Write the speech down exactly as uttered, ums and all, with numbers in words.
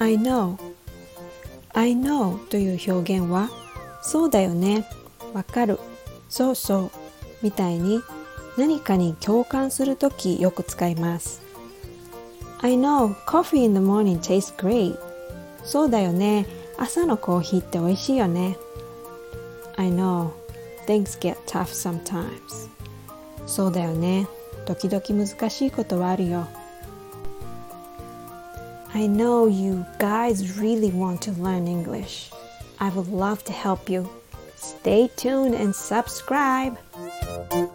I know I know という表現はそうだよね、わかる、そうそうみたいに何かに共感するときよく使います。I know coffee in the morning tastes great. そうだよね、朝のコーヒーって美味しいよね。I know things get tough sometimes. そうだよね、時々難しいことはあるよ。I know you guys really want to learn English. I would love to help you. Stay tuned and subscribe.